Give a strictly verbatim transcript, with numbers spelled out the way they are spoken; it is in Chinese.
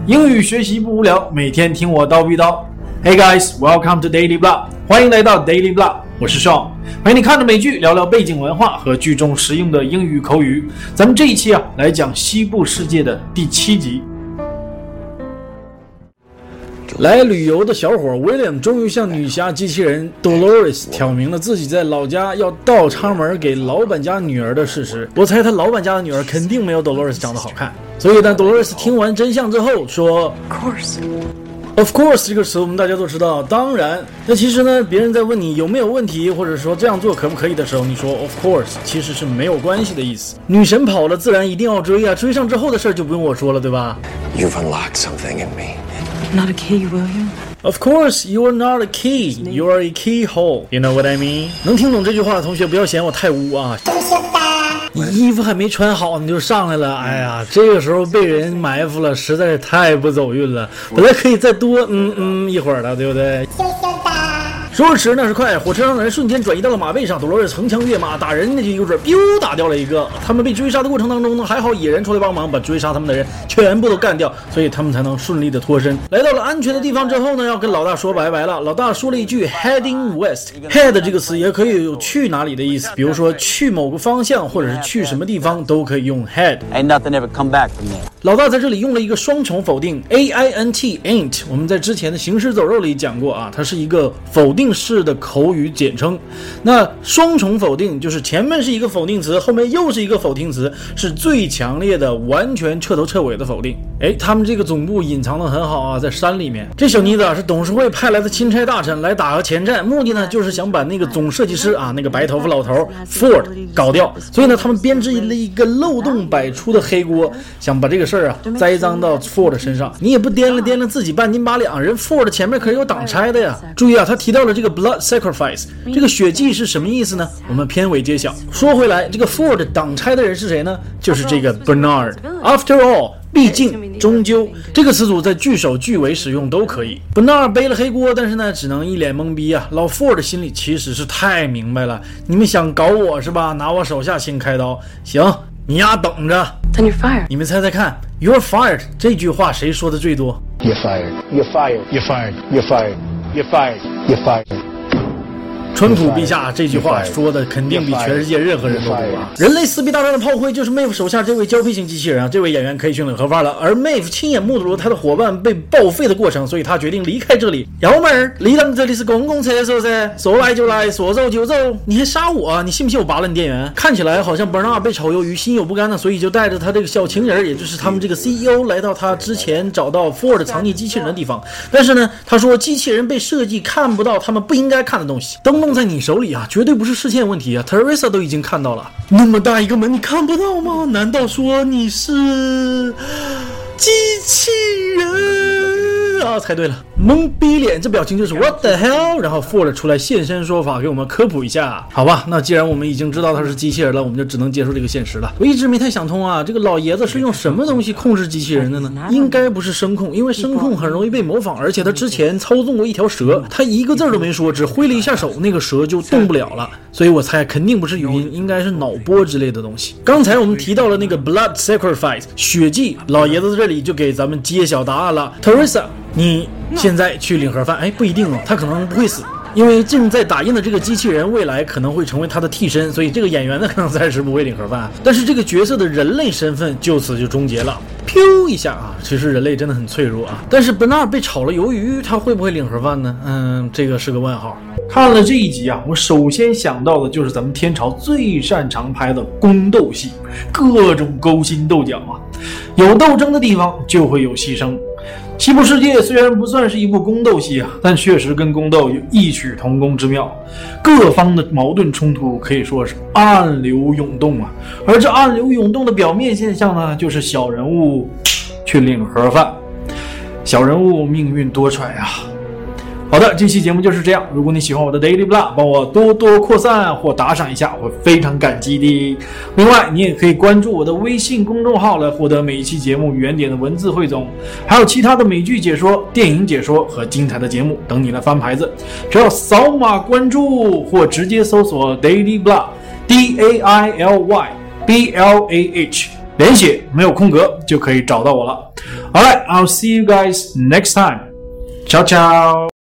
英语学习不无聊，每天听我叨逼叨。Hey guys, welcome to Daily Blah， 欢迎来到 Daily Blah， 我是 Sean， 陪你看着美剧，聊聊背景文化和剧中实用的英语口语。咱们这一期啊，来讲西部世界的第七集。来旅游的小伙 William 终于向女侠机器人 Dolores 挑明了自己在老家要倒插门给老板家女儿的事实。我猜他老板家的女儿肯定没有 Dolores 长得好看，所以当 Dolores 听完真相之后说 Of course。Of course 这个词我们大家都知道，当然。那其实呢，别人在问你有没有问题，或者说这样做可不可以的时候，你说 Of course 其实是没有关系的意思。女神跑了，自然一定要追啊，追上之后的事儿就不用我说了，对吧？ You've unlocked something in me. Not a key, William. Of course, you are not a key. You are a keyhole. You know what I mean? 能听懂这句话的同学不要嫌我太污啊！你衣服还没穿好你就上来了，哎呀，这个时候被人埋伏了，实在是太不走运了。本来可以再多嗯嗯一会儿的，对不对？说时那是快，火车上的人瞬间转移到了马背上，多罗尔横枪跃马，打人那就有准 biu 打掉了一个。他们被追杀的过程当中呢，还好野人出来帮忙，把追杀他们的人全部都干掉，所以他们才能顺利的脱身。来到了安全的地方之后呢，要跟老大说拜拜了。老大说了一句 heading west。head 这个词也可以有去哪里的意思，比如说去某个方向，或者是去什么地方都可以用 head。 Ain't nothing ever come back from there。 老大在这里用了一个双重否定 A I N T ain't， 我们在之前的行尸走肉里讲过啊，它是一个否定式的口语简称。那双重否定就是前面是一个否定词，后面又是一个否定词，是最强烈的完全彻头彻尾的否定。哎，他们这个总部隐藏得很好啊，在山里面。这小妮子啊是董事会派来的钦差大臣，来打个前站，目的呢就是想把那个总设计师啊，那个白头发老头 Ford 搞掉。所以呢他们编织了一个漏洞百出的黑锅，想把这个事儿啊栽赃到 Ford 身上。你也不掂量掂量自己半斤八两，人 Ford 前面可是有挡拆的呀。注意啊，他提到了这个 blood sacrifice， 这个血祭是什么意思呢？我们片尾揭晓。说回来，这个 Ford 挡拆的人是谁呢？就是这个 Bernard。After all， 毕竟终究这个词组在句首句尾使用都可以。Bernard 背了黑锅，但是呢只能一脸懵逼啊。老 Ford 心里其实是太明白了，你们想搞我是吧？拿我手下先开刀，行，你丫等着。 Then you're fired. 你们猜猜看 You're fired 这句话谁说的最多？ You're fired. You're fired. You're fired. You're fired. You're fired. You're fired. 川普陛下这句话说的肯定比全世界任何人都多啊！人类撕逼大战的炮灰就是 Maeve 手下这位交配型机器人啊，这位演员可以去领盒饭了。而 Maeve 亲眼目睹了他的伙伴被报废的过程，所以他决定离开这里。幺妹儿，离咱们这里是公共厕所噻，说来就来，说走就走，你还杀我啊？你信不信我拔了你电源？看起来好像 Bernard 被炒鱿鱼，心有不甘呢，所以就带着他这个小情人，也就是他们这个 C E O 来到他之前找到 Ford 藏匿机器人的地方。但是呢，他说机器人被设计看不到他们不应该看的东西，灯笼在你手里啊，绝对不是视线问题啊 Teresa 都已经看到了，那么大一个门你看不到吗？难道说你是机器人啊？猜对了，懵逼脸，这表情就是 What the hell， 然后 Ford 出来现身说法给我们科普一下。好吧，那既然我们已经知道他是机器人了，我们就只能接受这个现实了。我一直没太想通啊，这个老爷子是用什么东西控制机器人的呢？应该不是声控，因为声控很容易被模仿，而且他之前操纵过一条蛇，他一个字都没说，只挥了一下手，那个蛇就动不了了。所以我猜肯定不是语音，应该是脑波之类的东西。刚才我们提到了那个 blood sacrifice 血祭，老爷子这里就给咱们揭晓答案了。 Teresa， 你现在去领盒饭，哎，不一定哦，他可能不会死，因为正在打印的这个机器人未来可能会成为他的替身，所以这个演员呢可能暂时不会领盒饭，但是这个角色的人类身份就此就终结了。噗一下啊，其实人类真的很脆弱啊。但是 Bernard 被炒了鱿鱼，他会不会领盒饭呢？嗯，这个是个问号。看了这一集啊，我首先想到的就是咱们天朝最擅长拍的宫斗戏，各种勾心斗角啊，有斗争的地方就会有牺牲。西部世界虽然不算是一部宫斗戏啊，但确实跟宫斗有异曲同工之妙，各方的矛盾冲突可以说是暗流涌动啊。而这暗流涌动的表面现象呢，就是小人物去领盒饭，小人物命运多舛啊。好的，这期节目就是这样。如果你喜欢我的 Daily Blah， 帮我多多扩散或打赏一下，我会非常感激的。另外，你也可以关注我的微信公众号来获得每一期节目原点的文字汇总，还有其他的美剧解说、电影解说和精彩的节目等你来翻牌子。只要扫码关注或直接搜索 Daily Blah D A I L Y B L A H， 连写没有空格就可以找到我了。 Alright, I'll see you guys next time. Ciao, ciao.